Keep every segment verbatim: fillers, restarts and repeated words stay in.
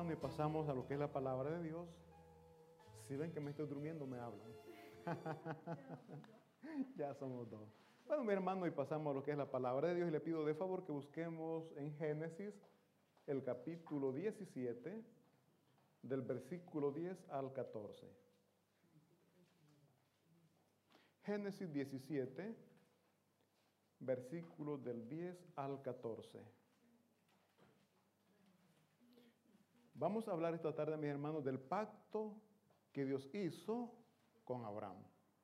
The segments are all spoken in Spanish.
hermano, y pasamos a lo que es la palabra de Dios. Si ven que me estoy durmiendo, me hablan. Ya somos dos. Bueno, mi hermano, y pasamos a lo que es la palabra de Dios, y le pido de favor que busquemos en Génesis el capítulo diecisiete, del versículo diez al catorce. Génesis diecisiete, versículos del diez al catorce. Vamos a hablar esta tarde, mis hermanos, del pacto que Dios hizo con Abraham.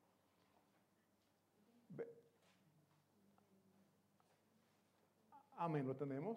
Amén, ¿lo tenemos?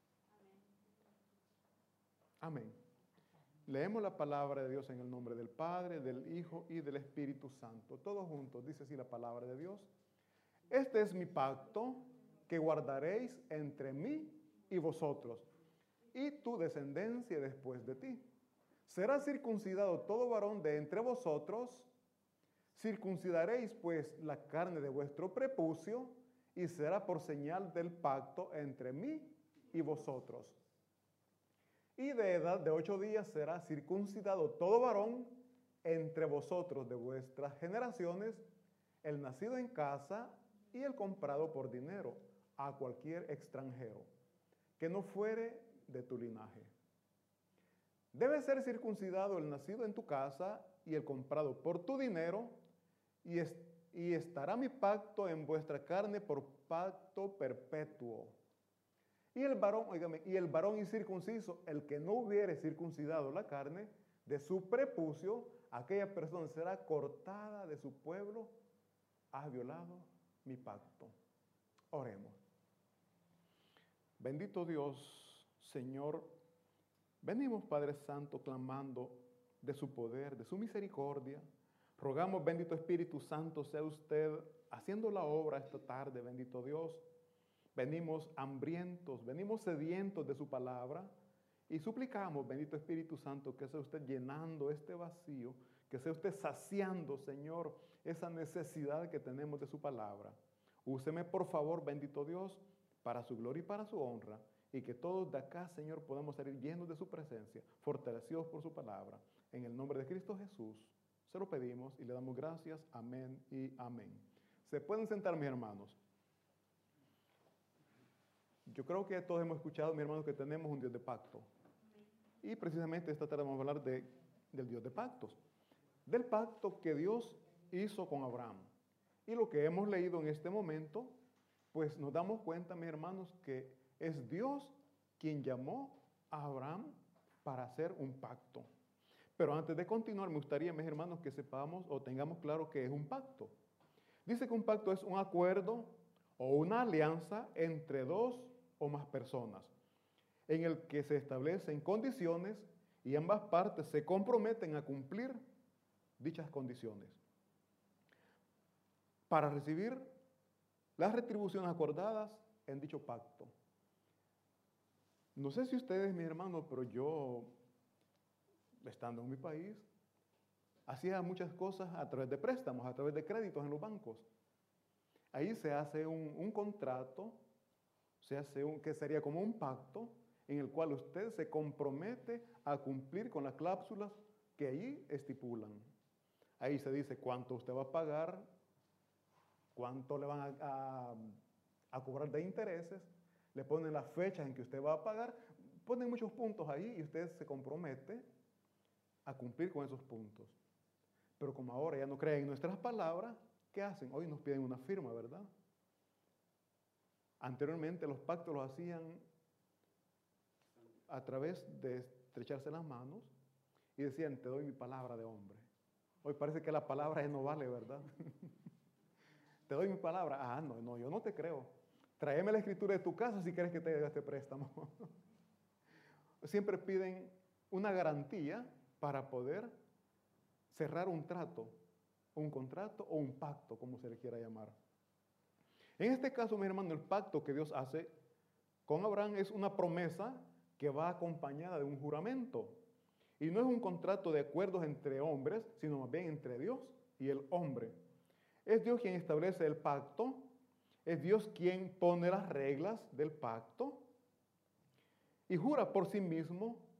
Amén. Leemos la palabra de Dios en el nombre del Padre, del Hijo y del Espíritu Santo. Todos juntos, dice así la palabra de Dios. Este es mi pacto que guardaréis entre mí y vosotros, y tu descendencia después de ti. Será circuncidado todo varón de entre vosotros. Circuncidaréis pues la carne de vuestro prepucio, y será por señal del pacto entre mí y vosotros. Y de edad de ocho días será circuncidado todo varón entre vosotros de vuestras generaciones, el nacido en casa y el comprado por dinero a cualquier extranjero, que no fuere de tu linaje. Debe ser circuncidado el nacido en tu casa y el comprado por tu dinero, y, est y estará mi pacto en vuestra carne por pacto perpetuo. Y el varón, oígame, y el varón incircunciso, el que no hubiere circuncidado la carne de su prepucio, aquella persona será cortada de su pueblo, ha violado mi pacto. Oremos. Bendito Dios, Señor, venimos, Padre Santo, clamando de su poder, de su misericordia. Rogamos, bendito Espíritu Santo, sea usted haciendo la obra esta tarde, bendito Dios. Venimos hambrientos, venimos sedientos de su palabra y suplicamos, bendito Espíritu Santo, que sea usted llenando este vacío, que sea usted saciando, Señor, esa necesidad que tenemos de su palabra. Úseme, por favor, bendito Dios, para su gloria y para su honra, y que todos de acá, Señor, podamos salir llenos de su presencia, fortalecidos por su palabra. En el nombre de Cristo Jesús, se lo pedimos y le damos gracias. Amén y amén. Se pueden sentar, mis hermanos. Yo creo que todos hemos escuchado, mis hermanos, que tenemos un Dios de pacto. Y precisamente esta tarde vamos a hablar de, del Dios de pactos. Del pacto que Dios hizo con Abraham. Y lo que hemos leído en este momento, pues nos damos cuenta, mis hermanos, que es Dios quien llamó a Abraham para hacer un pacto. Pero antes de continuar, me gustaría, mis hermanos, que sepamos o tengamos claro qué es un pacto. Dice que un pacto es un acuerdo o una alianza entre dos o más personas, en el que se establecen condiciones y ambas partes se comprometen a cumplir dichas condiciones para recibir las retribuciones acordadas en dicho pacto. No sé si ustedes, mis hermanos, pero yo, estando en mi país, hacía muchas cosas a través de préstamos, a través de créditos en los bancos. Ahí se hace un, un contrato, se hace un, que sería como un pacto, en el cual usted se compromete a cumplir con las cláusulas que ahí estipulan. Ahí se dice cuánto usted va a pagar, cuánto le van a, a, a cobrar de intereses, le ponen las fechas en que usted va a pagar, ponen muchos puntos ahí y usted se compromete a cumplir con esos puntos. Pero como ahora ya no creen en nuestras palabras, ¿qué hacen? Hoy nos piden una firma, ¿verdad? Anteriormente los pactos los hacían a través de estrecharse las manos y decían, te doy mi palabra de hombre. Hoy parece que la palabra ya no vale, ¿verdad? Te doy mi palabra. Ah, no, no, yo no te creo. Tráeme la escritura de tu casa si quieres que te dé este préstamo. Siempre piden una garantía para poder cerrar un trato, un contrato o un pacto, como se le quiera llamar. En este caso, mi hermano, el pacto que Dios hace con Abraham es una promesa que va acompañada de un juramento. Y no es un contrato de acuerdos entre hombres, sino más bien entre Dios y el hombre. Es Dios quien establece el pacto, es Dios quien pone las reglas del pacto y jura por sí mismo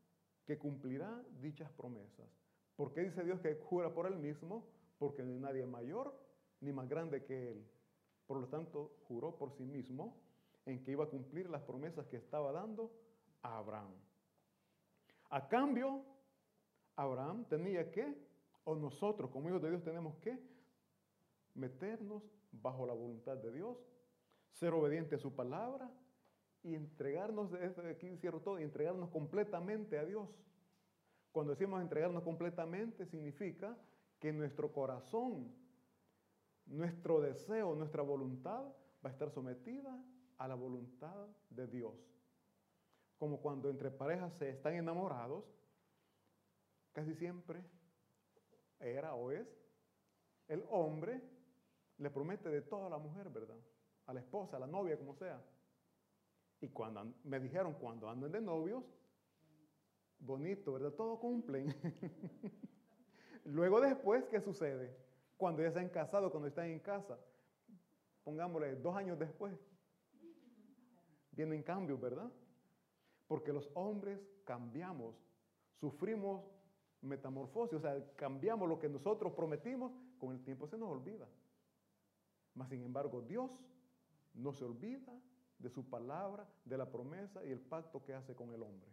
que cumplirá dichas promesas. ¿Por qué dice Dios que jura por él mismo? Porque no hay nadie mayor ni más grande que él. Por lo tanto, juró por sí mismo en que iba a cumplir las promesas que estaba dando a Abraham. A cambio, Abraham tenía que, o nosotros como hijos de Dios tenemos que, meternos bajo la voluntad de Dios, ser obediente a su palabra y entregarnos, desde aquí cierro todo, y entregarnos completamente a Dios. Cuando decimos entregarnos completamente, significa que nuestro corazón, nuestro deseo, nuestra voluntad va a estar sometida a la voluntad de Dios. Como cuando entre parejas se están enamorados, casi siempre era o es, el hombre le promete de todo a la mujer, ¿verdad? A la esposa, a la novia, como sea. Y cuando me dijeron, cuando andan de novios, bonito, ¿verdad? Todo cumplen. Luego después, ¿qué sucede? Cuando ya se han casado, cuando están en casa, pongámosle dos años después, vienen cambios, ¿verdad? Porque los hombres cambiamos, sufrimos metamorfosis, o sea, cambiamos lo que nosotros prometimos, con el tiempo se nos olvida. Mas, sin embargo, Dios no se olvida de su palabra, de la promesa y el pacto que hace con el hombre.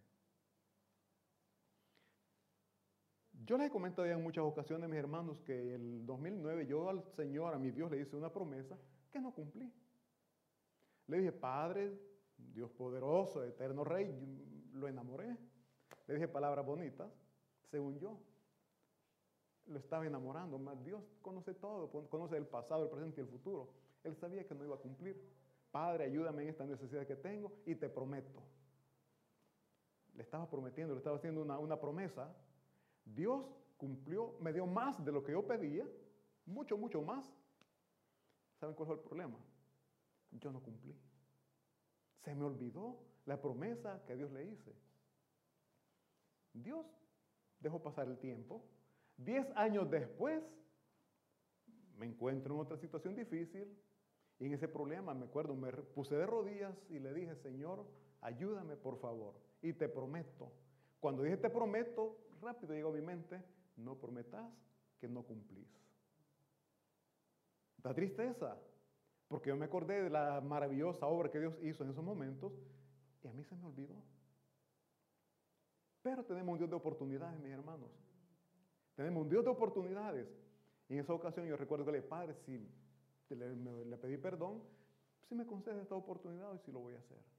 Yo les he comentado ya en muchas ocasiones, mis hermanos, que en el dos mil nueve yo al Señor, a mi Dios, le hice una promesa que no cumplí. Le dije, Padre, Dios poderoso, eterno Rey, lo enamoré. Le dije palabras bonitas, según yo. Lo estaba enamorando, más Dios conoce todo, conoce el pasado, el presente y el futuro. Él sabía que no iba a cumplir. Padre, ayúdame en esta necesidad que tengo y te prometo. Le estaba prometiendo, le estaba haciendo una, una promesa. Dios cumplió, me dio más de lo que yo pedía, mucho, mucho más. ¿Saben cuál fue el problema? Yo no cumplí. Se me olvidó la promesa que Dios le hice. Dios dejó pasar el tiempo. Diez años después, me encuentro en otra situación difícil y en ese problema, me acuerdo, me puse de rodillas y le dije, Señor, ayúdame por favor y te prometo. Cuando dije te prometo, rápido llegó a mi mente, no prometas que no cumplís. Da tristeza, porque yo me acordé de la maravillosa obra que Dios hizo en esos momentos y a mí se me olvidó. Pero tenemos un Dios de oportunidades, mis hermanos. Tenemos un Dios de oportunidades. Y en esa ocasión yo recuerdo que le dije, Padre, si le, me, le pedí perdón, si me concedes esta oportunidad, hoy sí lo voy a hacer.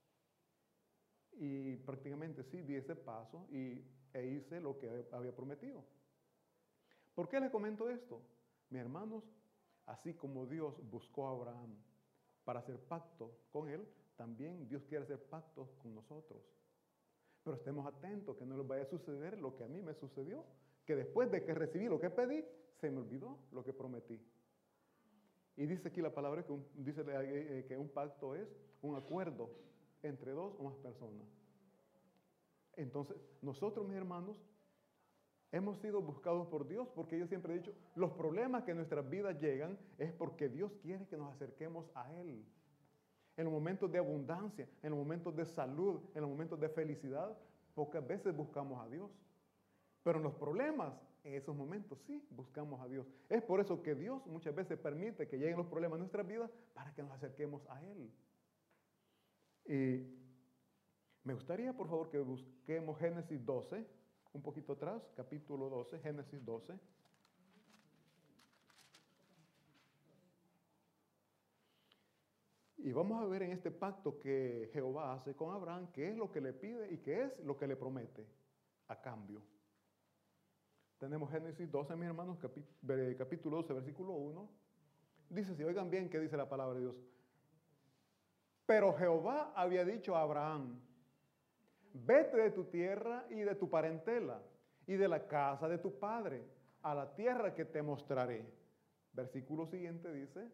Y prácticamente sí, di ese paso y, e hice lo que había prometido. ¿Por qué les comento esto? Mis hermanos, así como Dios buscó a Abraham para hacer pacto con él, también Dios quiere hacer pactos con nosotros. Pero estemos atentos que no les vaya a suceder lo que a mí me sucedió, que después de que recibí lo que pedí, se me olvidó lo que prometí. Y dice aquí la palabra que un, dice que un pacto es un acuerdo entre dos o más personas. Entonces, nosotros, mis hermanos, hemos sido buscados por Dios, porque yo siempre he dicho, los problemas que en nuestras vidas llegan es porque Dios quiere que nos acerquemos a Él. En los momentos de abundancia, en los momentos de salud, en los momentos de felicidad, pocas veces buscamos a Dios. Pero en los problemas, en esos momentos sí buscamos a Dios. Es por eso que Dios muchas veces permite que lleguen los problemas a nuestras vidas para que nos acerquemos a Él. Y me gustaría, por favor, que busquemos Génesis doce, un poquito atrás, capítulo doce, Génesis doce. Y vamos a ver en este pacto que Jehová hace con Abraham, qué es lo que le pide y qué es lo que le promete a cambio. Tenemos Génesis doce, mis hermanos, capítulo doce, versículo uno. Dice, si oigan bien, ¿qué dice la palabra de Dios? Pero Jehová había dicho a Abraham, vete de tu tierra y de tu parentela y de la casa de tu padre a la tierra que te mostraré. Versículo siguiente dice,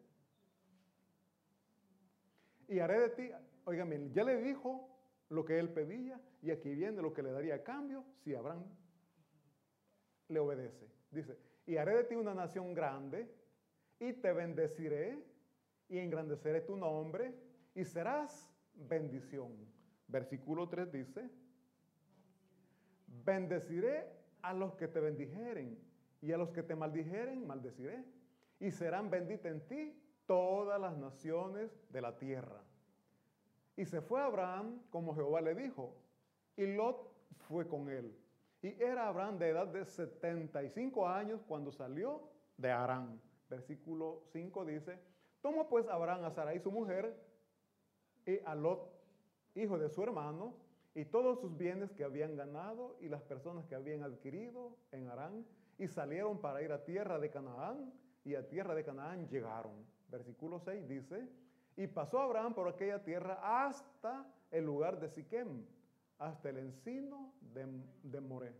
y haré de ti, oigan bien, ya le dijo lo que él pedía y aquí viene lo que le daría a cambio si Abraham le obedece. Dice, y haré de ti una nación grande y te bendeciré y engrandeceré tu nombre y serás bendición. Versículo tres dice, bendeciré a los que te bendijeren, y a los que te maldijeren, maldeciré. Y serán benditas en ti todas las naciones de la tierra. Y se fue Abraham como Jehová le dijo, y Lot fue con él. Y era Abraham de edad de setenta y cinco años cuando salió de Harán. Versículo cinco dice, tomó pues Abraham a Sarai su mujer, y a Lot, hijo de su hermano, y todos sus bienes que habían ganado, y las personas que habían adquirido en Harán, y salieron para ir a tierra de Canaán, y a tierra de Canaán llegaron. Versículo seis dice, y pasó Abraham por aquella tierra hasta el lugar de Siquem, hasta el encino de, de Moré.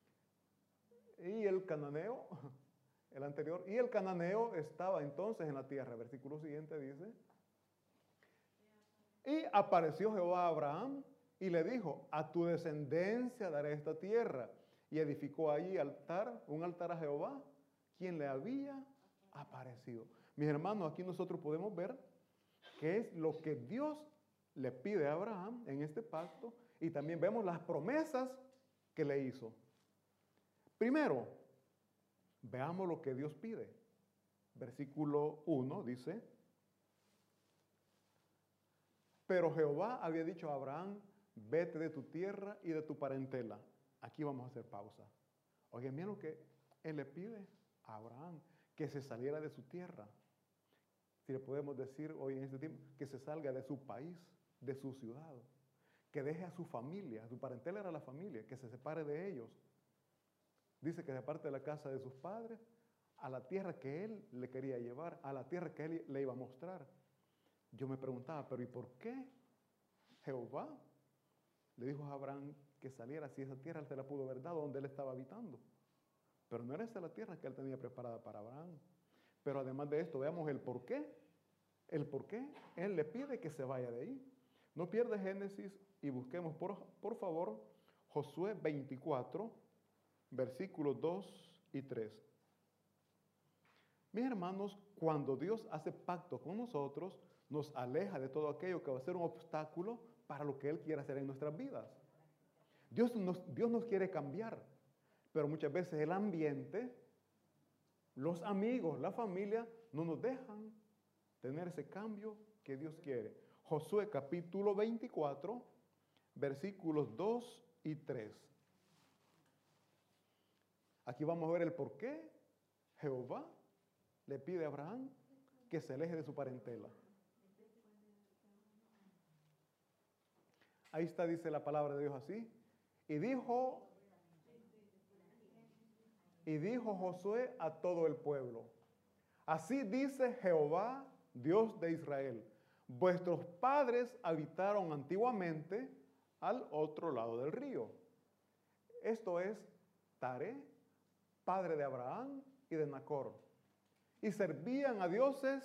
Y el cananeo, el anterior, y el cananeo estaba entonces en la tierra. Versículo siguiente dice, y apareció Jehová a Abraham y le dijo, a tu descendencia daré esta tierra. Y edificó allí altar, un altar a Jehová, quien le había aparecido. Mis hermanos, aquí nosotros podemos ver qué es lo que Dios le pide a Abraham en este pacto, y también vemos las promesas que le hizo. Primero, veamos lo que Dios pide. Versículo uno dice, pero Jehová había dicho a Abraham, vete de tu tierra y de tu parentela. Aquí vamos a hacer pausa. Oigan, miren lo que él le pide a Abraham, que se saliera de su tierra. Si le podemos decir hoy en este tiempo, que se salga de su país, de su ciudad, que deje a su familia, su parentela era la familia, que se separe de ellos. Dice que se aparte de la casa de sus padres a la tierra que él le quería llevar, a la tierra que él le iba a mostrar. Yo me preguntaba, pero ¿y por qué Jehová le dijo a Abraham que saliera si esa tierra él se la pudo haber dado donde él estaba habitando? Pero no era esa la tierra que él tenía preparada para Abraham. Pero además de esto, veamos el por qué. El por qué él le pide que se vaya de ahí. No pierda Génesis y busquemos, por, por favor, Josué veinticuatro, versículos dos y tres. Mis hermanos, cuando Dios hace pacto con nosotros, nos aleja de todo aquello que va a ser un obstáculo para lo que Él quiere hacer en nuestras vidas. Dios nos, Dios nos quiere cambiar, pero muchas veces el ambiente, los amigos, la familia, no nos dejan tener ese cambio que Dios quiere. Josué capítulo veinticuatro, versículos dos y tres. Aquí vamos a ver el por qué Jehová le pide a Abraham que se aleje de su parentela. Ahí está, dice la palabra de Dios así. Y dijo, y dijo Josué a todo el pueblo, así dice Jehová, Dios de Israel, vuestros padres habitaron antiguamente al otro lado del río. Esto es Taré, padre de Abraham y de Nacor, y servían a dioses.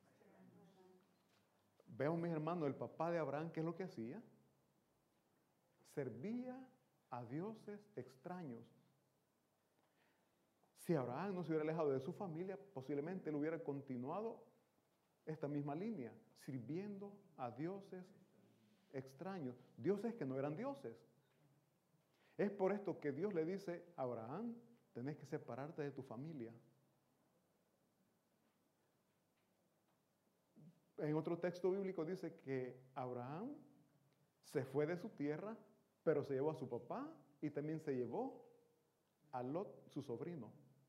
Veo, mis hermanos, el papá de Abraham, ¿qué es lo que hacía? Servía a dioses extraños. Si Abraham no se hubiera alejado de su familia, posiblemente él hubiera continuado esta misma línea, sirviendo a dioses extraños, dioses que no eran dioses. Es por esto que Dios le dice a Abraham, tenés que separarte de tu familia. En otro texto bíblico dice que Abraham se fue de su tierra, pero se llevó a su papá y también se llevó a Lot, su sobrino.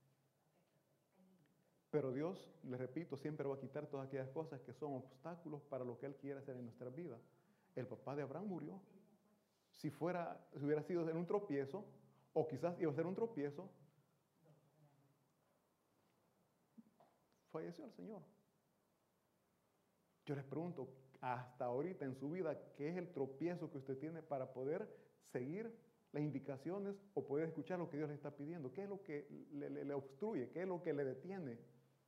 Pero Dios, le repito, siempre va a quitar todas aquellas cosas que son obstáculos para lo que Él quiere hacer en nuestra vida. El papá de Abraham murió. Si fuera, si hubiera sido en un tropiezo, o quizás iba a ser un tropiezo, falleció el Señor. Yo les pregunto, hasta ahorita en su vida, ¿qué es el tropiezo que usted tiene para poder seguir las indicaciones o poder escuchar lo que Dios le está pidiendo? ¿Qué es lo que le, le, le obstruye? ¿Qué es lo que le detiene?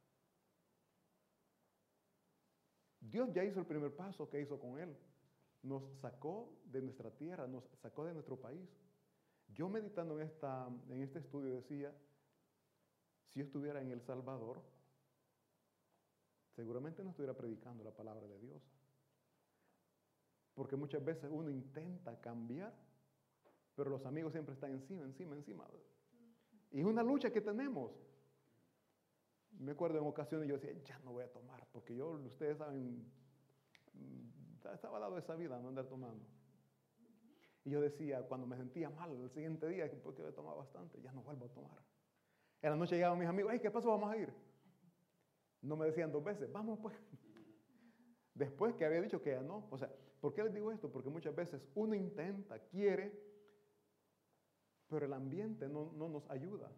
Dios ya hizo el primer paso que hizo con él. Nos sacó de nuestra tierra, nos sacó de nuestro país. Yo meditando en, esta, en este estudio decía, si yo estuviera en El Salvador, seguramente no estuviera predicando la palabra de Dios. Porque muchas veces uno intenta cambiar pero los amigos siempre están encima, encima, encima. Y es una lucha que tenemos. Me acuerdo en ocasiones yo decía, ya no voy a tomar, porque yo, ustedes saben, estaba dado esa vida, no andar tomando. Y yo decía, cuando me sentía mal el siguiente día, porque había tomado bastante, ya no vuelvo a tomar. En la noche llegaban mis amigos, hey, ¿qué pasó? Vamos a ir. No me decían dos veces, vamos pues. Después que había dicho que ya no. O sea, ¿por qué les digo esto? Porque muchas veces uno intenta, quiere, pero el ambiente no, no nos ayuda.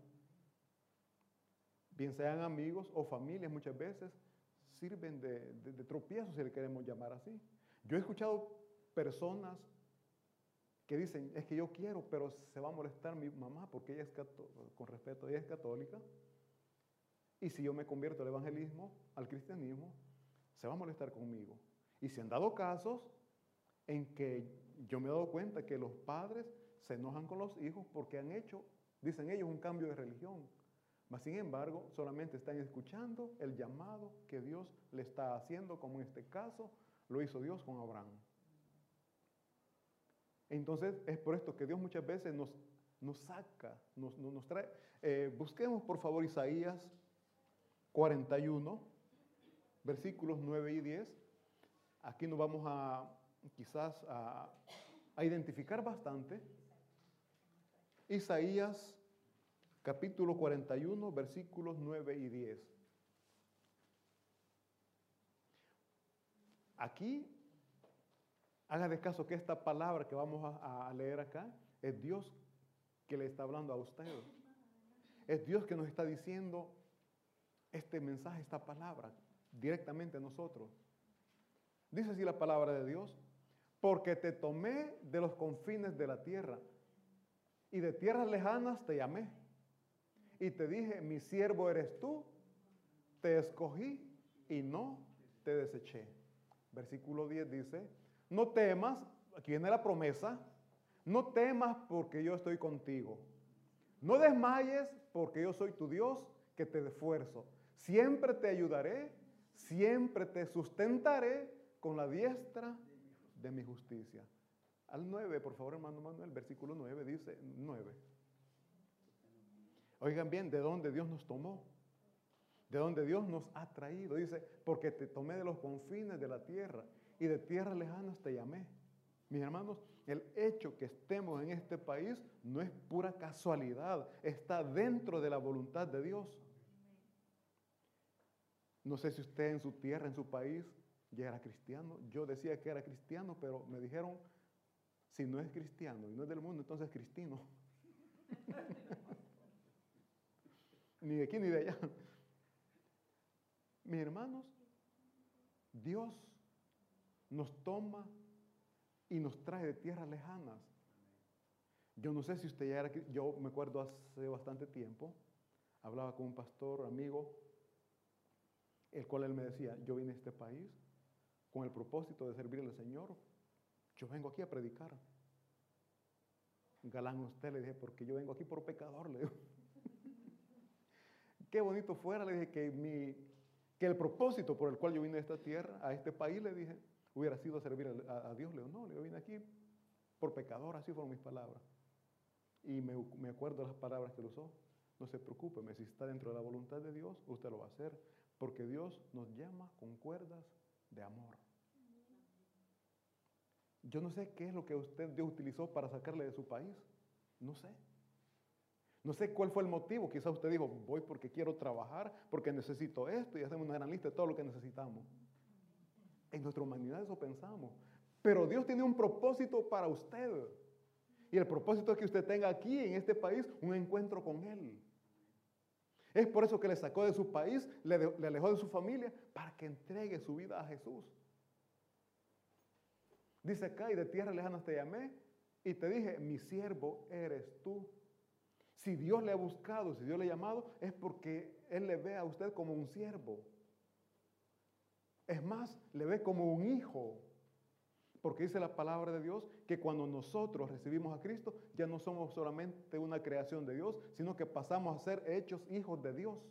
Bien sean amigos o familias, muchas veces sirven de, de, de tropiezo, si le queremos llamar así. Yo he escuchado personas que dicen, es que yo quiero, pero se va a molestar mi mamá porque ella es católica, con respeto, ella es católica. Y si yo me convierto al evangelismo, al cristianismo, se va a molestar conmigo. Y se han dado casos en que yo me he dado cuenta que los padres se enojan con los hijos porque han hecho, dicen ellos, un cambio de religión. Mas, sin embargo, solamente están escuchando el llamado que Dios le está haciendo, como en este caso lo hizo Dios con Abraham. Entonces, es por esto que Dios muchas veces nos, nos saca, nos, nos trae. Eh, busquemos, por favor, Isaías cuarenta y uno, versículos nueve y diez. Aquí nos vamos a, quizás, a, a identificar bastante. Isaías capítulo cuarenta y uno, versículos nueve y diez. Aquí, haga de caso que esta palabra que vamos a, a leer acá, es Dios que le está hablando a usted. Es Dios que nos está diciendo este mensaje, esta palabra, directamente a nosotros. Dice así la palabra de Dios: porque te tomé de los confines de la tierra, y de tierras lejanas te llamé, y te dije, mi siervo eres tú, te escogí y no te deseché. Versículo diez dice, no temas, aquí viene la promesa, no temas porque yo estoy contigo. No desmayes porque yo soy tu Dios que te esfuerzo. Siempre te ayudaré, siempre te sustentaré con la diestra de mi justicia. Al nueve, por favor, hermano Manuel, versículo nueve dice, nueve. Oigan bien, ¿de dónde Dios nos tomó? ¿De dónde Dios nos ha traído? Dice, porque te tomé de los confines de la tierra y de tierras lejanas te llamé. Mis hermanos, el hecho que estemos en este país no es pura casualidad, está dentro de la voluntad de Dios. No sé si usted en su tierra, en su país, ya era cristiano. Yo decía que era cristiano, pero me dijeron, si no es cristiano y no es del mundo, entonces es cristino. Ni de aquí ni de allá. Mis hermanos, Dios nos toma y nos trae de tierras lejanas. Yo no sé si usted ya era, yo me acuerdo hace bastante tiempo, hablaba con un pastor, amigo, el cual él me decía, yo vine a este país con el propósito de servirle al Señor. Yo vengo aquí a predicar. Galán usted, le dije, porque yo vengo aquí por pecador, le digo. Qué bonito fuera, le dije, que, mi, que el propósito por el cual yo vine a esta tierra, a este país, le dije, hubiera sido servir a, a Dios. Le digo, no, le digo, vine aquí por pecador, así fueron mis palabras. Y me, me acuerdo de las palabras que él usó. No se preocupe, si está dentro de la voluntad de Dios, usted lo va a hacer, porque Dios nos llama con cuerdas de amor. Yo no sé qué es lo que usted Dios utilizó para sacarle de su país. No sé. No sé cuál fue el motivo. Quizás usted dijo, voy porque quiero trabajar, porque necesito esto, y hacemos una gran lista de todo lo que necesitamos. En nuestra humanidad eso pensamos. Pero Dios tiene un propósito para usted. Y el propósito es que usted tenga aquí, en este país, un encuentro con Él. Es por eso que le sacó de su país, le, de, le alejó de su familia, para que entregue su vida a Jesús. Dice acá, y de tierra lejanas te llamé, y te dije, mi siervo eres tú. Si Dios le ha buscado, si Dios le ha llamado, es porque Él le ve a usted como un siervo. Es más, le ve como un hijo. Porque dice la palabra de Dios que cuando nosotros recibimos a Cristo, ya no somos solamente una creación de Dios, sino que pasamos a ser hechos hijos de Dios.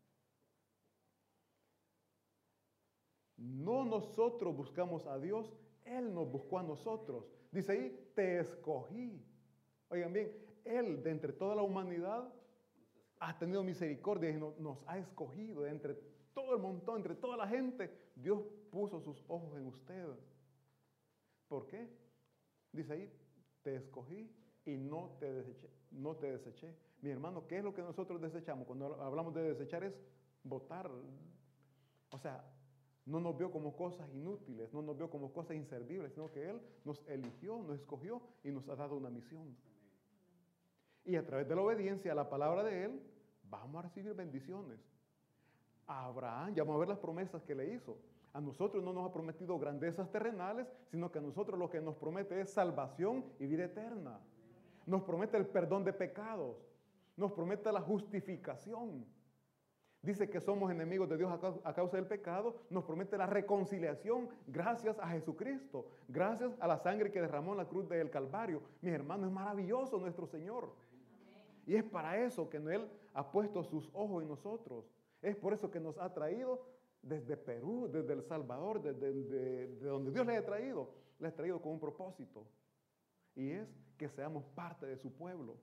No nosotros buscamos a Dios, Él nos buscó a nosotros. Dice ahí, te escogí. Oigan bien, Él de entre toda la humanidad ha tenido misericordia y nos, nos ha escogido. De entre todo el montón, entre toda la gente, Dios puso sus ojos en usted. ¿Por qué? Dice ahí, te escogí y no te deseché. No te deseché. Mi hermano, ¿qué es lo que nosotros desechamos? Cuando hablamos de desechar es botar. O sea, no nos vio como cosas inútiles, no nos vio como cosas inservibles, sino que Él nos eligió, nos escogió y nos ha dado una misión. Y a través de la obediencia a la palabra de Él, vamos a recibir bendiciones. A Abraham, ya vamos a ver las promesas que le hizo. A nosotros no nos ha prometido grandezas terrenales, sino que a nosotros lo que nos promete es salvación y vida eterna. Nos promete el perdón de pecados. Nos promete la justificación. Dice que somos enemigos de Dios a causa del pecado. Nos promete la reconciliación gracias a Jesucristo. Gracias a la sangre que derramó en la cruz del Calvario. Mis hermanos, es maravilloso nuestro Señor. Y es para eso que Él ha puesto sus ojos en nosotros. Es por eso que nos ha traído desde Perú, desde El Salvador, desde de, de donde Dios le ha traído. Le ha traído con un propósito. Y es que seamos parte de su pueblo.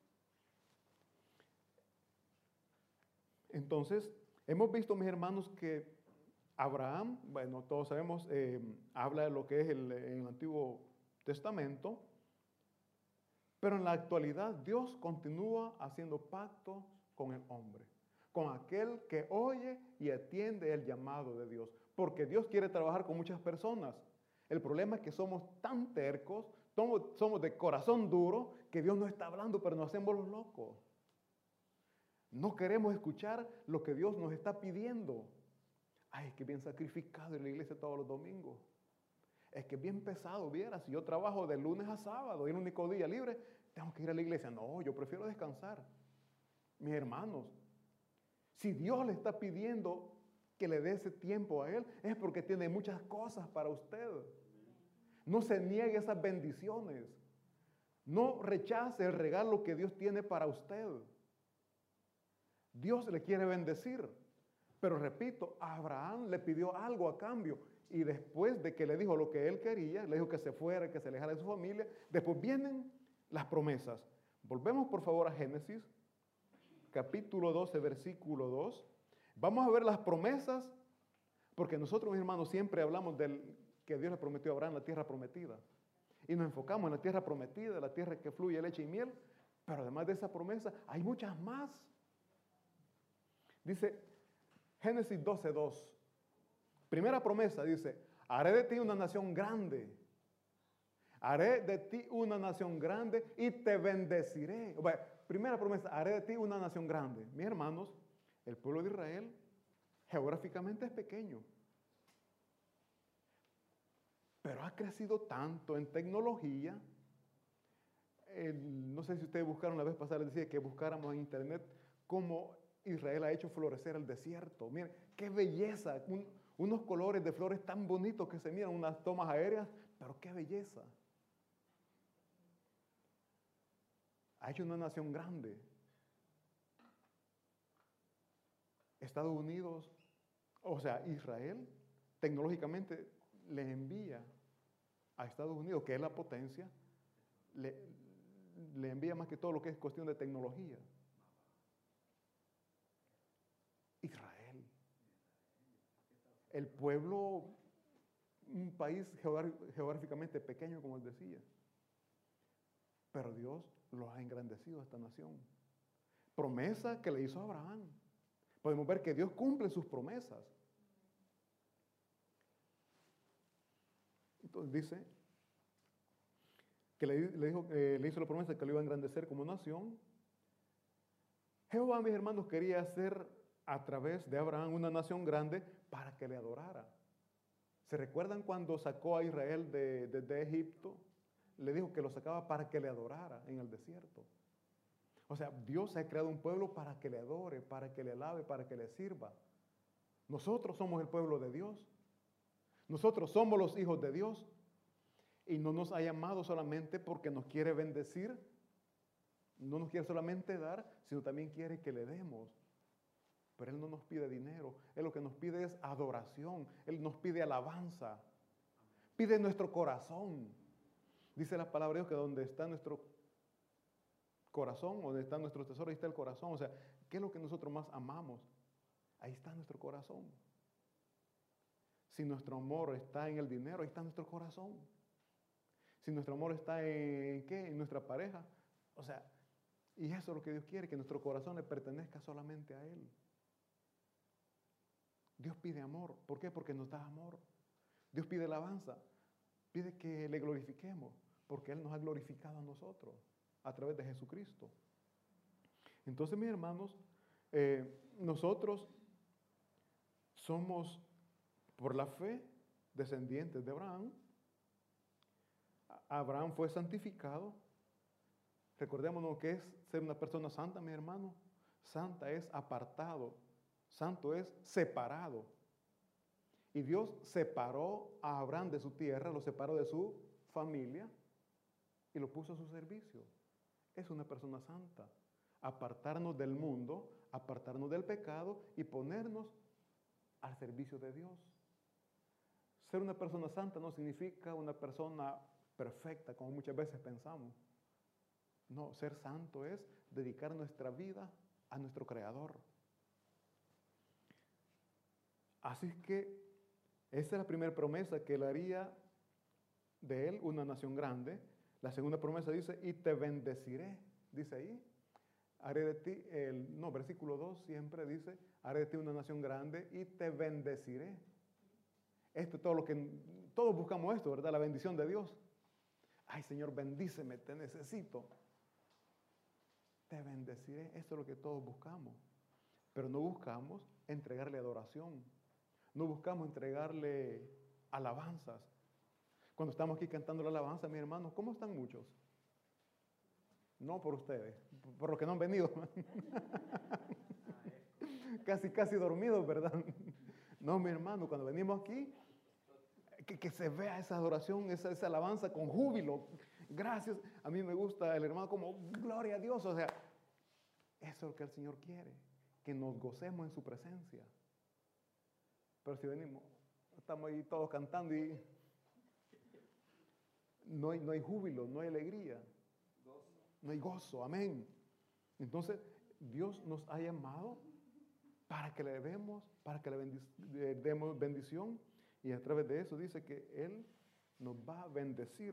Entonces, hemos visto, mis hermanos, que Abraham, bueno, todos sabemos, eh, habla de lo que es el, en el Antiguo Testamento, pero en la actualidad Dios continúa haciendo pacto con el hombre, con aquel que oye y atiende el llamado de Dios, porque Dios quiere trabajar con muchas personas. El problema es que somos tan tercos, somos, somos de corazón duro, que Dios no está hablando, pero nos hacemos los locos. No queremos escuchar lo que Dios nos está pidiendo. Ay, es que bien sacrificado en la iglesia todos los domingos. Es que bien pesado, viera, si yo trabajo de lunes a sábado y el único día libre, tengo que ir a la iglesia. No, yo prefiero descansar. Mis hermanos, si Dios le está pidiendo que le dé ese tiempo a Él, es porque tiene muchas cosas para usted. No se niegue esas bendiciones. No rechace el regalo que Dios tiene para usted. Dios le quiere bendecir, pero repito, a Abraham le pidió algo a cambio y después de que le dijo lo que él quería, le dijo que se fuera, que se alejara de su familia, después vienen las promesas. Volvemos por favor a Génesis, capítulo doce, versículo dos. Vamos a ver las promesas, porque nosotros, mis hermanos, siempre hablamos del que Dios le prometió a Abraham la tierra prometida. Y nos enfocamos en la tierra prometida, la tierra que fluye leche y miel, pero además de esa promesa hay muchas más. Dice Génesis doce, dos. Primera promesa dice, haré de ti una nación grande. Haré de ti una nación grande y te bendeciré. Bueno, primera promesa, haré de ti una nación grande. Mis hermanos, el pueblo de Israel geográficamente es pequeño. Pero ha crecido tanto en tecnología. El, no sé si ustedes buscaron la vez pasada, les decía que buscáramos en internet cómo Israel ha hecho florecer el desierto. Miren, qué belleza, un, unos colores de flores tan bonitos que se miran, unas tomas aéreas, pero qué belleza. Ha hecho una nación grande. Estados Unidos, o sea, Israel, tecnológicamente le envía a Estados Unidos, que es la potencia, le, le envía más que todo lo que es cuestión de tecnología. Israel, el pueblo, un país geográficamente pequeño, como él decía, pero Dios los ha engrandecido a esta nación. Promesa que le hizo a Abraham. Podemos ver que Dios cumple sus promesas. Entonces dice que le, le, dijo, eh, le hizo la promesa que lo iba a engrandecer como nación. Jehová, mis hermanos, quería hacer a través de Abraham una nación grande para que le adorara. ¿Se recuerdan cuando sacó a Israel de, de, de Egipto? Le dijo que lo sacaba para que le adorara en el desierto. O sea, Dios ha creado un pueblo para que le adore, para que le alabe, para que le sirva. Nosotros somos el pueblo de Dios. Nosotros somos los hijos de Dios. Y no nos ha llamado solamente porque nos quiere bendecir, no nos quiere solamente dar, sino también quiere que le demos. Pero Él no nos pide dinero, Él lo que nos pide es adoración, Él nos pide alabanza, pide nuestro corazón. Dice la palabra de Dios que donde está nuestro corazón, donde está nuestro tesoro, ahí está el corazón. O sea, ¿qué es lo que nosotros más amamos? Ahí está nuestro corazón. Si nuestro amor está en el dinero, ahí está nuestro corazón. Si nuestro amor está en ¿qué? En nuestra pareja. O sea, y eso es lo que Dios quiere, que nuestro corazón le pertenezca solamente a Él. Dios pide amor. ¿Por qué? Porque nos da amor. Dios pide alabanza. Pide que le glorifiquemos, porque Él nos ha glorificado a nosotros a través de Jesucristo. Entonces, mis hermanos, eh, nosotros somos, por la fe, descendientes de Abraham. Abraham fue santificado. Recordémonos que es ser una persona santa, mi hermano. Santa es apartado. Santo es separado. Y Dios separó a Abraham de su tierra, lo separó de su familia y lo puso a su servicio. Es una persona santa. Apartarnos del mundo, apartarnos del pecado y ponernos al servicio de Dios. Ser una persona santa no significa una persona perfecta, como muchas veces pensamos. No, ser santo es dedicar nuestra vida a nuestro Creador. Así que esa es la primera promesa, que él haría de él una nación grande. La segunda promesa dice, y te bendeciré, dice ahí. Haré de ti, el, no, versículo dos siempre dice, haré de ti una nación grande y te bendeciré. Esto es todo lo que, todos buscamos esto, ¿verdad? La bendición de Dios. Ay, Señor, bendíceme, te necesito. Te bendeciré, esto es lo que todos buscamos. Pero no buscamos entregarle adoración. No buscamos entregarle alabanzas. Cuando estamos aquí cantando la alabanza, mis hermanos, ¿cómo están muchos? No por ustedes, por los que no han venido. casi, casi dormidos, ¿verdad? No, mi hermano, cuando venimos aquí, que, que se vea esa adoración, esa, esa alabanza con júbilo. Gracias. A mí me gusta el hermano como, gloria a Dios. O sea, eso es lo que el Señor quiere, que nos gocemos en su presencia. Pero si venimos, estamos ahí todos cantando y no hay, no hay júbilo, no hay alegría, no hay gozo, amén. Entonces, Dios nos ha llamado para que le demos, para que le, bendic le demos bendición, y a través de eso dice que Él nos va a bendecir.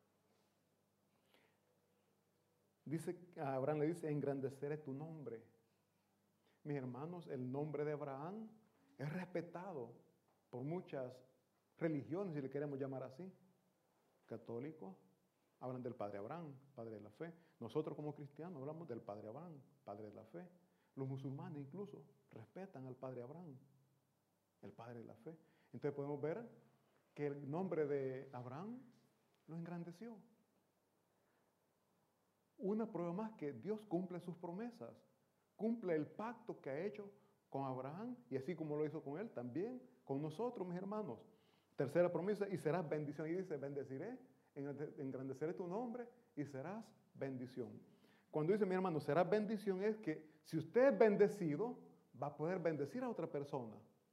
Dice, a Abraham le dice, engrandeceré tu nombre. Mis hermanos, el nombre de Abraham es respetado por muchas religiones, si le queremos llamar así. Católicos hablan del Padre Abraham, Padre de la fe. Nosotros como cristianos hablamos del Padre Abraham, Padre de la fe. Los musulmanes incluso respetan al Padre Abraham, el Padre de la fe. Entonces podemos ver que el nombre de Abraham lo engrandeció. Una prueba más que Dios cumple sus promesas, cumple el pacto que ha hecho con Abraham, y así como lo hizo con él, también con nosotros, mis hermanos. Tercera promesa, y serás bendición. Y dice, bendeciré, engrandeceré tu nombre y serás bendición. Cuando dice, mi hermano, serás bendición, es que si usted es bendecido, va a poder bendecir a otra persona.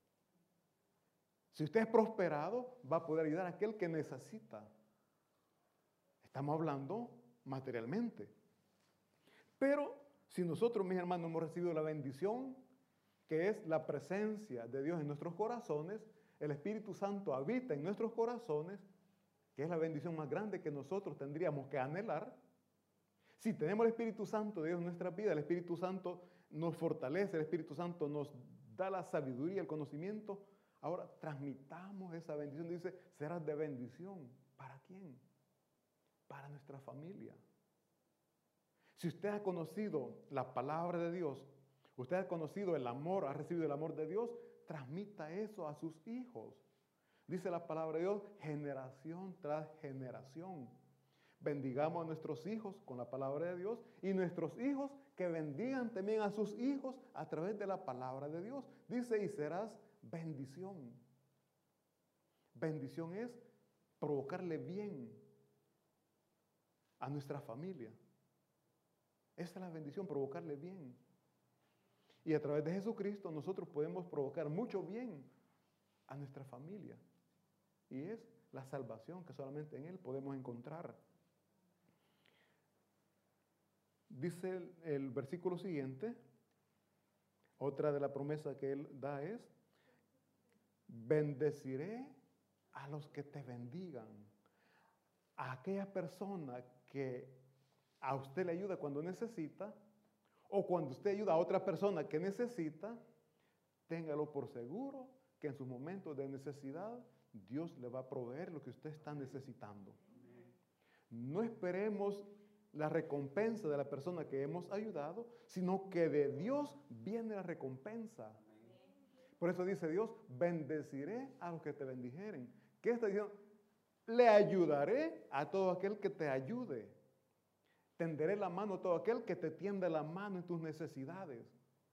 Si usted es prosperado, va a poder ayudar a aquel que necesita. Estamos hablando materialmente. Pero si nosotros, mis hermanos, hemos recibido la bendición, que es la presencia de Dios en nuestros corazones, el Espíritu Santo habita en nuestros corazones, que es la bendición más grande que nosotros tendríamos que anhelar. Si tenemos el Espíritu Santo de Dios en nuestra vida, el Espíritu Santo nos fortalece, el Espíritu Santo nos da la sabiduría, el conocimiento. Ahora transmitamos esa bendición. Dice, serás de bendición. ¿Para quién? Para nuestra familia. Si usted ha conocido la palabra de Dios, usted ha conocido el amor, ha recibido el amor de Dios, transmita eso a sus hijos. Dice la palabra de Dios, generación tras generación. Bendigamos a nuestros hijos con la palabra de Dios, y nuestros hijos que bendigan también a sus hijos a través de la palabra de Dios. Dice, y serás bendición. Bendición es provocarle bien a nuestra familia. Esa es la bendición, provocarle bien. Y a través de Jesucristo nosotros podemos provocar mucho bien a nuestra familia. Y es la salvación que solamente en Él podemos encontrar. Dice el, el versículo siguiente, otra de las promesas que Él da es, bendeciré a los que te bendigan. A aquella persona que a usted le ayuda cuando necesita, o cuando usted ayuda a otra persona que necesita, téngalo por seguro que en sus momentos de necesidad Dios le va a proveer lo que usted está necesitando. No esperemos la recompensa de la persona que hemos ayudado, sino que de Dios viene la recompensa. Por eso dice Dios, bendeciré a los que te bendijeren. ¿Qué está diciendo? Le ayudaré a todo aquel que te ayude. Tenderé la mano a todo aquel que te tiende la mano en tus necesidades.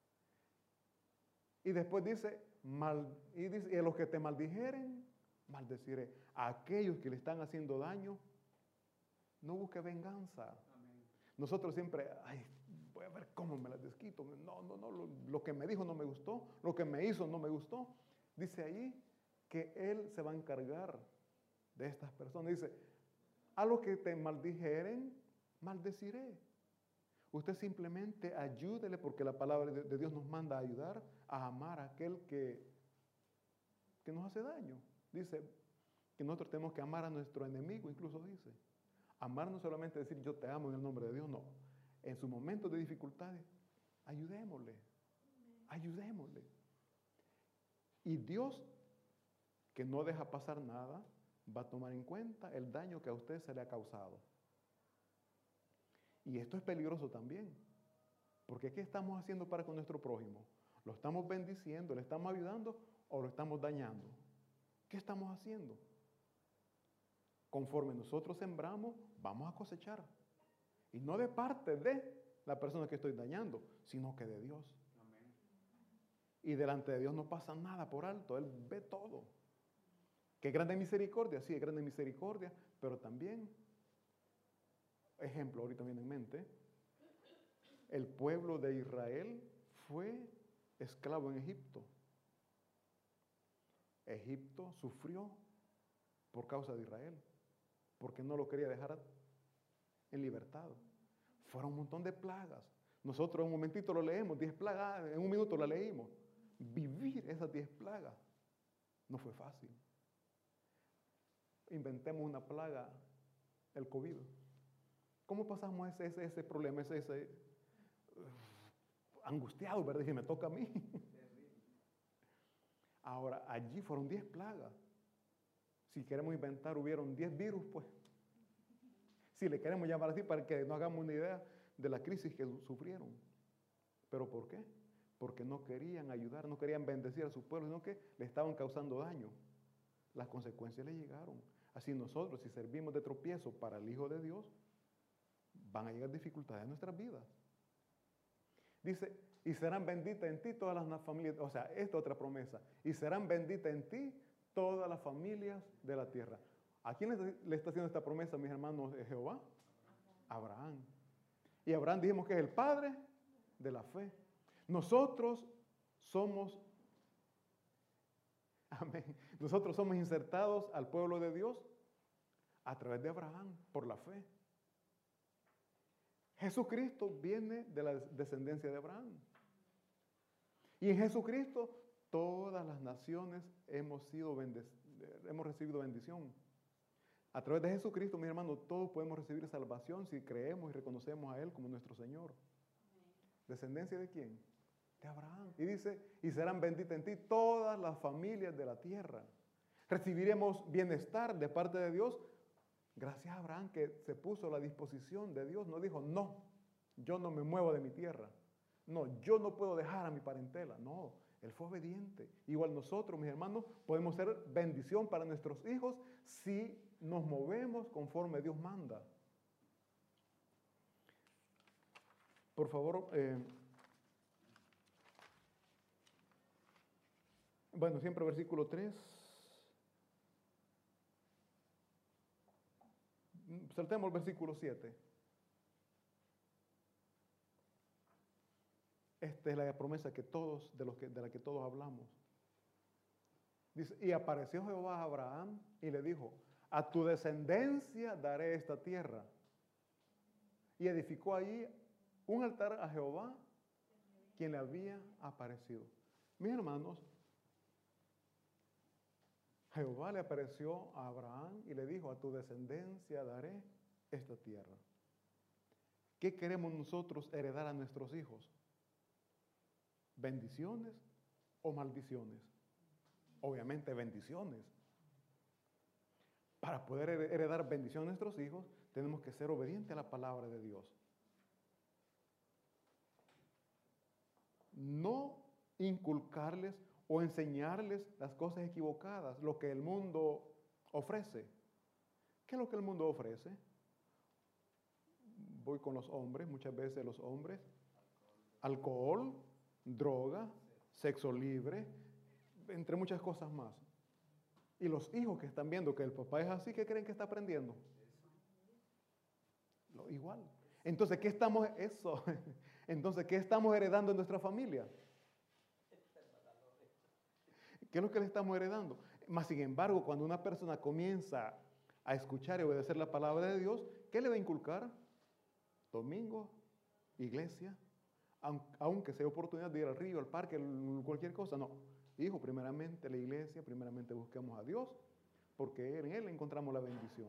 Y después dice, mal, y, dice y a los que te maldijeren, maldeciré. A aquellos que le están haciendo daño, no busque venganza. Amén. Nosotros siempre, ay, voy a ver cómo me las desquito. No, no, no, lo, lo que me dijo no me gustó, lo que me hizo no me gustó. Dice ahí que Él se va a encargar de estas personas. Dice, a los que te maldijeren, maldeciré. Usted simplemente ayúdele, porque la palabra de Dios nos manda a ayudar a amar a aquel que, que nos hace daño. Dice que nosotros tenemos que amar a nuestro enemigo, incluso dice. Amar no solamente decir yo te amo en el nombre de Dios, no. En sus momentos de dificultades, ayudémosle, ayudémosle. Y Dios, que no deja pasar nada, va a tomar en cuenta el daño que a usted se le ha causado. Y esto es peligroso también, porque ¿qué estamos haciendo para con nuestro prójimo? ¿Lo estamos bendiciendo, le estamos ayudando o lo estamos dañando? ¿Qué estamos haciendo? Conforme nosotros sembramos, vamos a cosechar. Y no de parte de la persona que estoy dañando, sino que de Dios. Amén. Y delante de Dios no pasa nada por alto, Él ve todo. Qué grande misericordia, sí, es grande misericordia, pero también, ejemplo, ahorita viene en mente, el pueblo de Israel fue esclavo en Egipto. Egipto sufrió por causa de Israel, porque no lo quería dejar en libertad. Fueron un montón de plagas. Nosotros en un momentito lo leemos, diez plagas, en un minuto la leímos. Vivir esas diez plagas no fue fácil. Inventemos una plaga, el COVID. ¿Cómo pasamos ese, ese, ese problema, ese, ese uh, angustiado, verdad? Y me toca a mí. Ahora, allí fueron diez plagas. Si queremos inventar, hubieron diez virus, pues. Si le queremos llamar así, para que nos hagamos una idea de la crisis que sufrieron. ¿Pero por qué? Porque no querían ayudar, no querían bendecir a su pueblo, sino que le estaban causando daño. Las consecuencias le llegaron. Así nosotros, si servimos de tropiezo para el Hijo de Dios, van a llegar dificultades en nuestras vidas. Dice, y serán benditas en ti todas las familias, o sea, esta otra promesa, y serán benditas en ti todas las familias de la tierra. ¿A quién le está haciendo esta promesa, mis hermanos, de Jehová? Abraham. Y Abraham dijimos que es el padre de la fe. Nosotros somos, amén, nosotros somos insertados al pueblo de Dios a través de Abraham, por la fe. Jesucristo viene de la descendencia de Abraham. Y en Jesucristo todas las naciones hemos sido hemos recibido bendición. A través de Jesucristo, mis hermanos, todos podemos recibir salvación si creemos y reconocemos a Él como nuestro Señor. ¿Descendencia de quién? De Abraham. Y dice, y serán benditas en ti todas las familias de la tierra. Recibiremos bienestar de parte de Dios. Gracias a Abraham, que se puso a la disposición de Dios. No dijo, no, yo no me muevo de mi tierra. No, yo no puedo dejar a mi parentela. No, él fue obediente. Igual nosotros, mis hermanos, podemos ser bendición para nuestros hijos si nos movemos conforme Dios manda. Por favor, eh, bueno, siempre versículo tres. Saltemos el versículo siete. Esta es la promesa que todos, de, los que, de la que todos hablamos. Dice, y apareció Jehová a Abraham y le dijo, a tu descendencia daré esta tierra. Y edificó allí un altar a Jehová, quien le había aparecido. Mis hermanos, Jehová le apareció a Abraham y le dijo, a tu descendencia daré esta tierra. ¿Qué queremos nosotros heredar a nuestros hijos? ¿Bendiciones o maldiciones? Obviamente bendiciones. Para poder heredar bendición a nuestros hijos, tenemos que ser obedientes a la palabra de Dios. No inculcarles o enseñarles las cosas equivocadas, lo que el mundo ofrece. ¿Qué es lo que el mundo ofrece? Voy con los hombres, muchas veces los hombres, alcohol, droga, sexo libre, entre muchas cosas más. Y los hijos que están viendo que el papá es así, ¿qué creen que está aprendiendo? Lo igual. Entonces, ¿qué estamos, eso? Entonces, ¿qué estamos heredando en nuestra familia? ¿Qué es lo que le estamos heredando? Mas, sin embargo, cuando una persona comienza a escuchar y obedecer la palabra de Dios, ¿qué le va a inculcar? Domingo, iglesia, aunque sea oportunidad de ir al río, al parque, cualquier cosa. No, hijo, primeramente la iglesia, primeramente busquemos a Dios, porque en Él encontramos la bendición.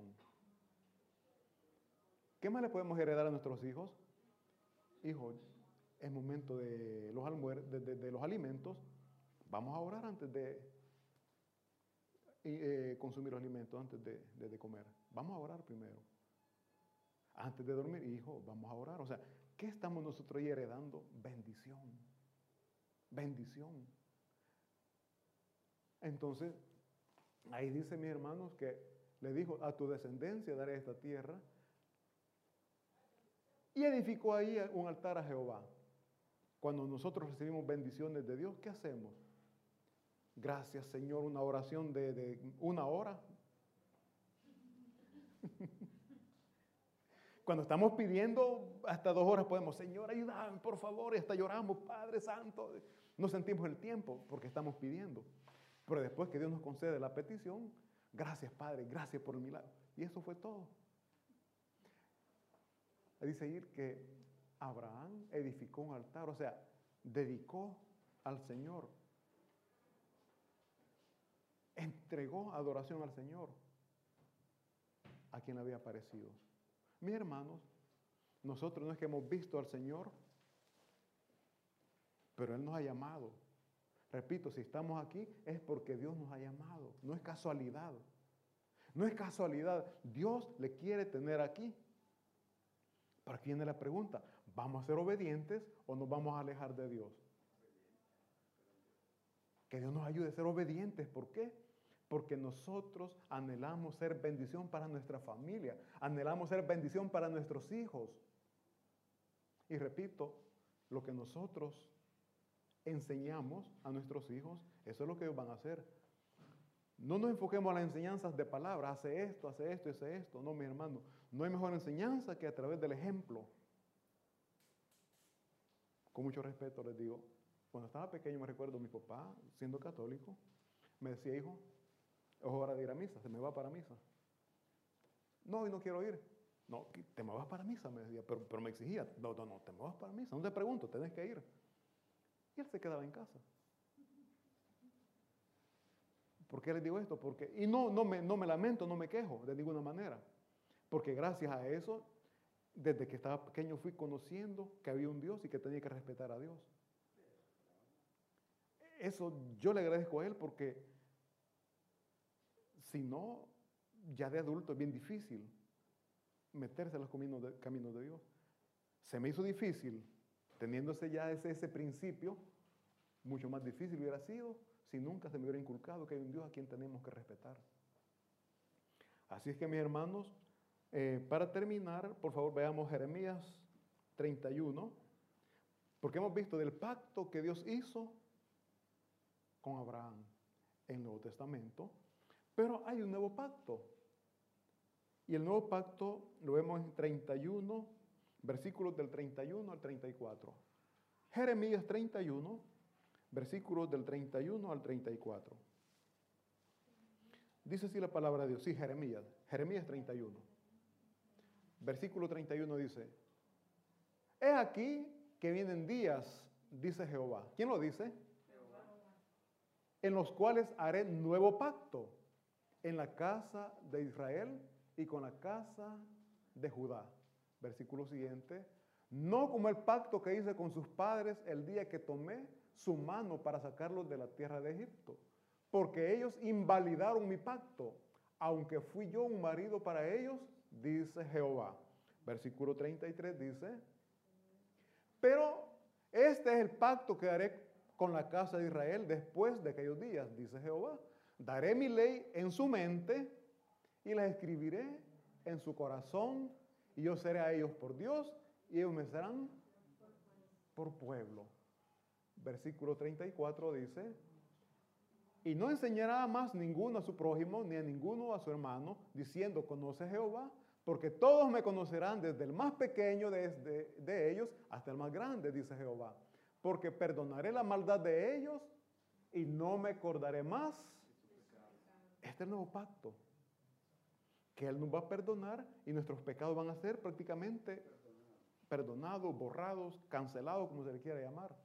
¿Qué más le podemos heredar a nuestros hijos? Hijo, es momento de los, almuer de, de, de los alimentos. Vamos a orar antes de eh, consumir los alimentos, antes de, de, de comer. Vamos a orar primero. Antes de dormir, hijo, vamos a orar. O sea, ¿qué estamos nosotros ahí heredando? Bendición. Bendición. Entonces, ahí dice, mis hermanos, que le dijo, a tu descendencia daré esta tierra. Y edificó ahí un altar a Jehová. Cuando nosotros recibimos bendiciones de Dios, ¿qué hacemos? Gracias, Señor, una oración de, de una hora. Cuando estamos pidiendo, hasta dos horas podemos, Señor, ayúdame, por favor, y hasta lloramos, Padre Santo. No sentimos el tiempo porque estamos pidiendo. Pero después que Dios nos concede la petición, gracias, Padre, gracias por el milagro. Y eso fue todo. Dice ahí que Abraham edificó un altar, o sea, dedicó al Señor. Entregó adoración al Señor, a quien le había aparecido. Mis hermanos, nosotros no es que hemos visto al Señor, pero Él nos ha llamado. Repito, si estamos aquí es porque Dios nos ha llamado, no es casualidad. No es casualidad, Dios le quiere tener aquí. Pero aquí viene la pregunta, ¿vamos a ser obedientes o nos vamos a alejar de Dios? Que Dios nos ayude a ser obedientes, ¿por qué? Porque nosotros anhelamos ser bendición para nuestra familia, anhelamos ser bendición para nuestros hijos. Y repito, lo que nosotros enseñamos a nuestros hijos, eso es lo que ellos van a hacer. No nos enfoquemos en las enseñanzas de palabras, hace esto, hace esto, hace esto. No, mi hermano, no hay mejor enseñanza que a través del ejemplo. Con mucho respeto les digo, cuando estaba pequeño me recuerdo mi papá, siendo católico, me decía, hijo, es hora de ir a misa, se me va para misa. No, hoy no quiero ir. No, te me vas para misa, me decía, pero, pero me exigía, no, no, no, te me vas para misa, no te pregunto, tenés que ir. Y él se quedaba en casa. ¿Por qué les digo esto? Porque, y no, no, me, no me lamento, no me quejo de ninguna manera. Porque gracias a eso, desde que estaba pequeño fui conociendo que había un Dios y que tenía que respetar a Dios. Eso yo le agradezco a Él porque si no, ya de adulto es bien difícil meterse en los caminos de, caminos de Dios. Se me hizo difícil, teniéndose ya ese, ese principio, mucho más difícil hubiera sido si nunca se me hubiera inculcado que hay un Dios a quien tenemos que respetar. Así es que, mis hermanos, eh, para terminar, por favor, veamos Jeremías treinta y uno, porque hemos visto del pacto que Dios hizo con Abraham en el Nuevo Testamento, pero hay un nuevo pacto. Y el nuevo pacto lo vemos en treinta y uno, versículos del treinta y uno al treinta y cuatro. Jeremías treinta y uno, versículos del treinta y uno al treinta y cuatro. Dice así la palabra de Dios. Sí, Jeremías. Jeremías treinta y uno. Versículo treinta y uno dice, He aquí que vienen días, dice Jehová. ¿Quién lo dice? Jehová. En los cuales haré nuevo pacto en la casa de Israel y con la casa de Judá. Versículo siguiente. No como el pacto que hice con sus padres el día que tomé su mano para sacarlos de la tierra de Egipto, porque ellos invalidaron mi pacto, aunque fui yo un marido para ellos, dice Jehová. Versículo treinta y tres dice, pero este es el pacto que haré con la casa de Israel después de aquellos días, dice Jehová. Daré mi ley en su mente y la escribiré en su corazón, y yo seré a ellos por Dios, y ellos me serán por pueblo. Versículo treinta y cuatro dice, y no enseñará más ninguno a su prójimo, ni a ninguno a su hermano, diciendo, conoce a Jehová, porque todos me conocerán, desde el más pequeño de, de, de ellos hasta el más grande, dice Jehová. Porque perdonaré la maldad de ellos y no me acordaré más. Este es el nuevo pacto, que Él nos va a perdonar y nuestros pecados van a ser prácticamente perdonados, borrados, cancelados, como se le quiera llamar.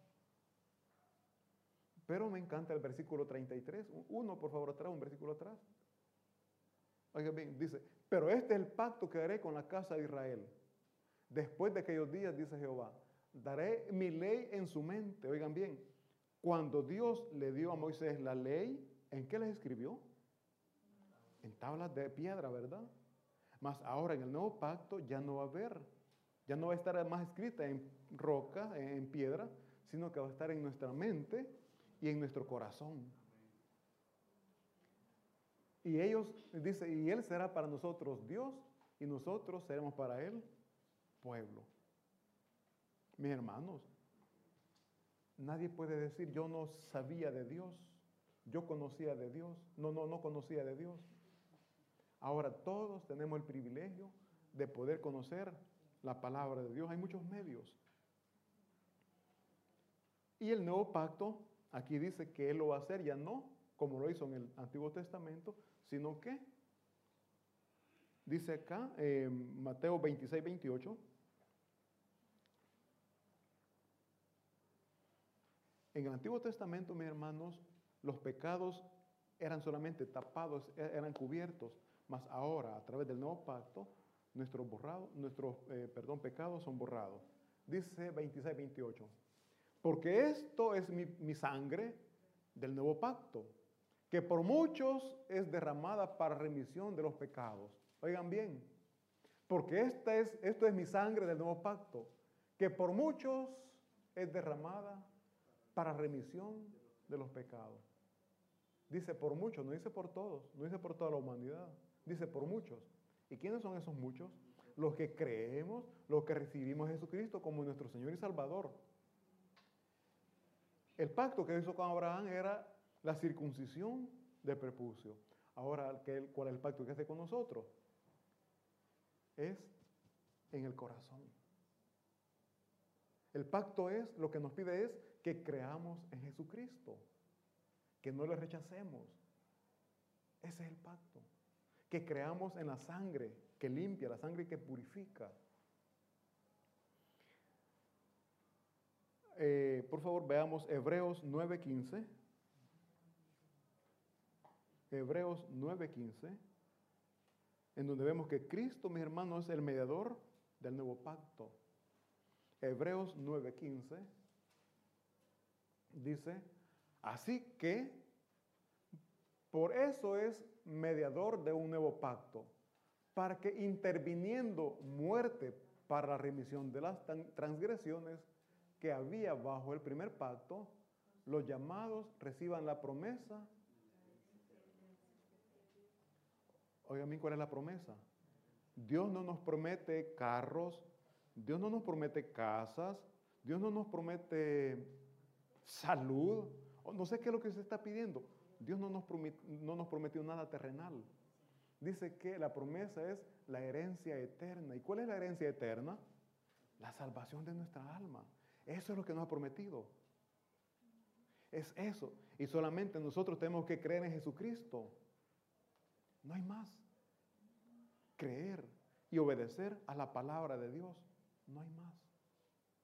Pero me encanta el versículo treinta y tres. Uno, por favor, atrás, un versículo atrás. Oigan bien, dice, pero este es el pacto que haré con la casa de Israel. Después de aquellos días, dice Jehová, daré mi ley en su mente. Oigan bien, cuando Dios le dio a Moisés la ley, ¿en qué les escribió? En tablas de piedra, ¿verdad? Mas ahora en el nuevo pacto ya no va a haber, ya no va a estar más escrita en roca, en piedra, sino que va a estar en nuestra mente y en nuestro corazón. Y ellos, dice, y Él será para nosotros Dios, y nosotros seremos para Él pueblo. Mis hermanos, nadie puede decir, yo no sabía de Dios, yo conocía de Dios. No, no, no conocía de Dios. Ahora todos tenemos el privilegio de poder conocer la palabra de Dios. Hay muchos medios. Y el nuevo pacto, aquí dice que Él lo va a hacer, ya no como lo hizo en el Antiguo Testamento, sino que, dice acá, eh, Mateo veintiséis, veintiocho, en el Antiguo Testamento, mis hermanos, los pecados eran solamente tapados, eran cubiertos, mas ahora, a través del nuevo pacto, nuestros, borrados, nuestros eh, perdón, pecados son borrados. Dice veintiséis, veintiocho, porque esto es mi, mi sangre del nuevo pacto, que por muchos es derramada para remisión de los pecados. Oigan bien, porque esta es, esto es mi sangre del nuevo pacto, que por muchos es derramada para remisión de los pecados. Dice por muchos, no dice por todos, no dice por toda la humanidad, dice por muchos. ¿Y quiénes son esos muchos? Los que creemos, los que recibimos a Jesucristo como nuestro Señor y Salvador. El pacto que hizo con Abraham era la circuncisión del prepucio. Ahora, ¿cuál es el pacto que hace con nosotros? Es en el corazón. El pacto es, lo que nos pide es que creamos en Jesucristo, que no le rechacemos. Ese es el pacto. Que creamos en la sangre que limpia, la sangre que purifica. Eh, por favor, veamos Hebreos nueve quince. Hebreos nueve quince, en donde vemos que Cristo, mis hermanos, es el mediador del nuevo pacto. Hebreos nueve quince dice, así que por eso es mediador de un nuevo pacto, para que interviniendo muerte para la remisión de las transgresiones que había bajo el primer pacto, los llamados reciban la promesa. Oigan bien, ¿cuál es la promesa? Dios no nos promete carros, Dios no nos promete casas, Dios no nos promete salud, o no sé qué es lo que se está pidiendo. Dios no nos prometió, no nos prometió nada terrenal. Dice que la promesa es la herencia eterna. ¿Y cuál es la herencia eterna? La salvación de nuestra alma. Eso es lo que nos ha prometido. Es eso. Y solamente nosotros tenemos que creer en Jesucristo. No hay más. Creer y obedecer a la palabra de Dios. No hay más.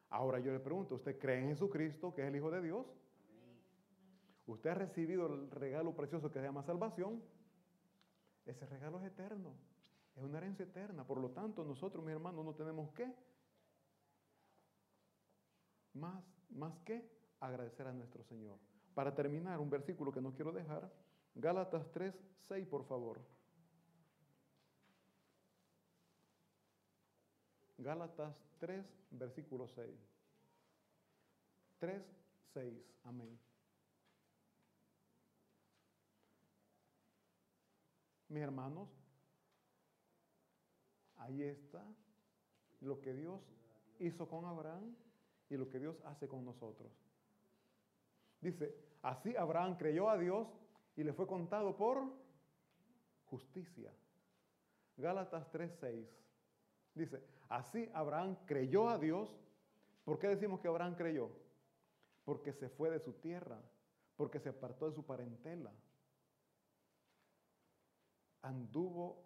Ahora yo le pregunto, ¿usted cree en Jesucristo, que es el Hijo de Dios? ¿Usted ha recibido el regalo precioso que se llama salvación? Ese regalo es eterno, es una herencia eterna. Por lo tanto, nosotros, mis hermanos, no tenemos que más, más que agradecer a nuestro Señor. Para terminar, un versículo que no quiero dejar, Gálatas tres, seis, por favor. Gálatas tres, versículo seis. tres, seis, amén. Mis hermanos, ahí está lo que Dios hizo con Abraham y lo que Dios hace con nosotros. Dice, así Abraham creyó a Dios y le fue contado por justicia. Gálatas tres, seis. Dice, así Abraham creyó a Dios. ¿Por qué decimos que Abraham creyó? Porque se fue de su tierra, porque se apartó de su parentela. Anduvo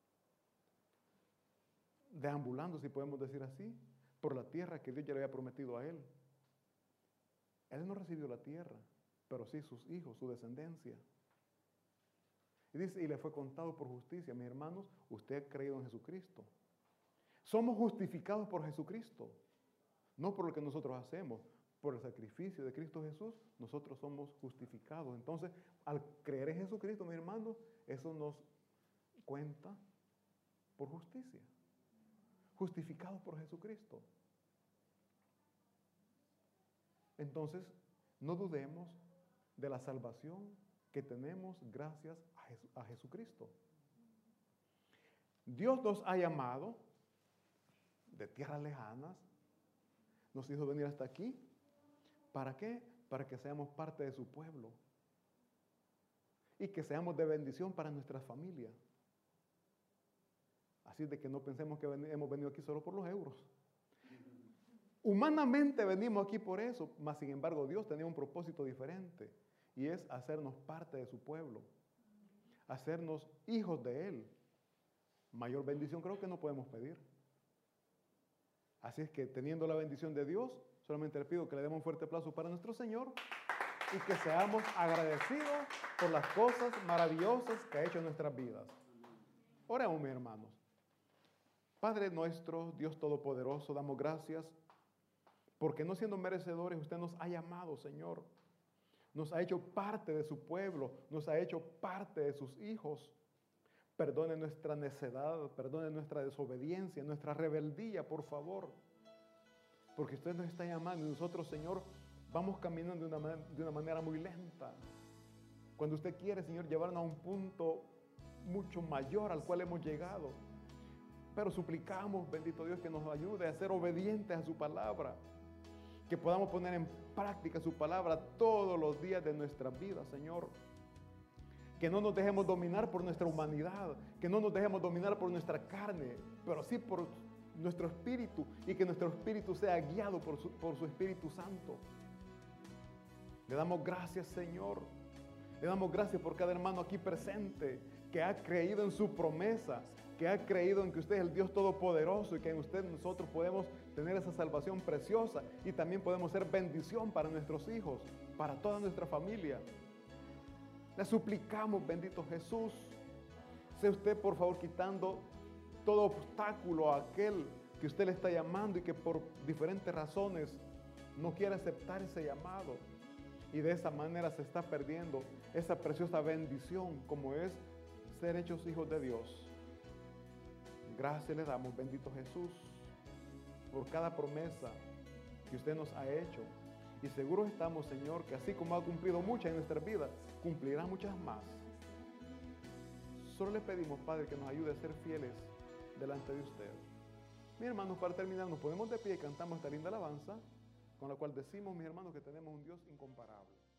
deambulando, si podemos decir así, por la tierra que Dios ya le había prometido a él. Él no recibió la tierra, pero sí sus hijos, su descendencia. Y dice, y le fue contado por justicia. Mis hermanos, usted ha creído en Jesucristo. Somos justificados por Jesucristo, no por lo que nosotros hacemos, por el sacrificio de Cristo Jesús, nosotros somos justificados. Entonces, al creer en Jesucristo, mis hermanos, eso nos cuenta por justicia. Justificados por Jesucristo. Entonces, no dudemos de la salvación que tenemos gracias a, Jesu- a Jesucristo. Dios nos ha llamado de tierras lejanas, nos hizo venir hasta aquí. ¿Para qué? Para que seamos parte de su pueblo y que seamos de bendición para nuestras familias. Así de que no pensemos que ven- hemos venido aquí solo por los euros. Humanamente venimos aquí por eso, mas sin embargo Dios tenía un propósito diferente y es hacernos parte de su pueblo, hacernos hijos de Él. Mayor bendición creo que no podemos pedir. Así es que teniendo la bendición de Dios, solamente le pido que le demos un fuerte aplauso para nuestro Señor y que seamos agradecidos por las cosas maravillosas que ha hecho en nuestras vidas. Oremos, mis hermanos. Padre nuestro, Dios Todopoderoso, damos gracias porque no siendo merecedores, usted nos ha llamado, Señor. Nos ha hecho parte de su pueblo, nos ha hecho parte de sus hijos. Perdone nuestra necedad, perdone nuestra desobediencia, nuestra rebeldía, por favor. Porque usted nos está llamando y nosotros, Señor, vamos caminando de una, de una manera muy lenta. Cuando usted quiere, Señor, llevarnos a un punto mucho mayor al cual hemos llegado. Pero suplicamos, bendito Dios, que nos ayude a ser obedientes a su palabra. Que podamos poner en práctica su palabra todos los días de nuestra vida, Señor. Que no nos dejemos dominar por nuestra humanidad, que no nos dejemos dominar por nuestra carne, pero sí por nuestro espíritu, y que nuestro espíritu sea guiado por su, por su Espíritu Santo. Le damos gracias, Señor. Le damos gracias por cada hermano aquí presente que ha creído en su promesa, que ha creído en que usted es el Dios Todopoderoso y que en usted nosotros podemos tener esa salvación preciosa y también podemos ser bendición para nuestros hijos, para toda nuestra familia. Le suplicamos, bendito Jesús, sea usted por favor quitando todo obstáculo a aquel que usted le está llamando y que por diferentes razones no quiere aceptar ese llamado. Y de esa manera se está perdiendo esa preciosa bendición como es ser hechos hijos de Dios. Gracias le damos, bendito Jesús, por cada promesa que usted nos ha hecho. Y seguros estamos, Señor, que así como ha cumplido muchas en nuestra vida, cumplirá muchas más. Solo le pedimos, Padre, que nos ayude a ser fieles delante de usted. Mis hermanos, para terminar, nos ponemos de pie y cantamos esta linda alabanza, con la cual decimos, mis hermanos, que tenemos un Dios incomparable.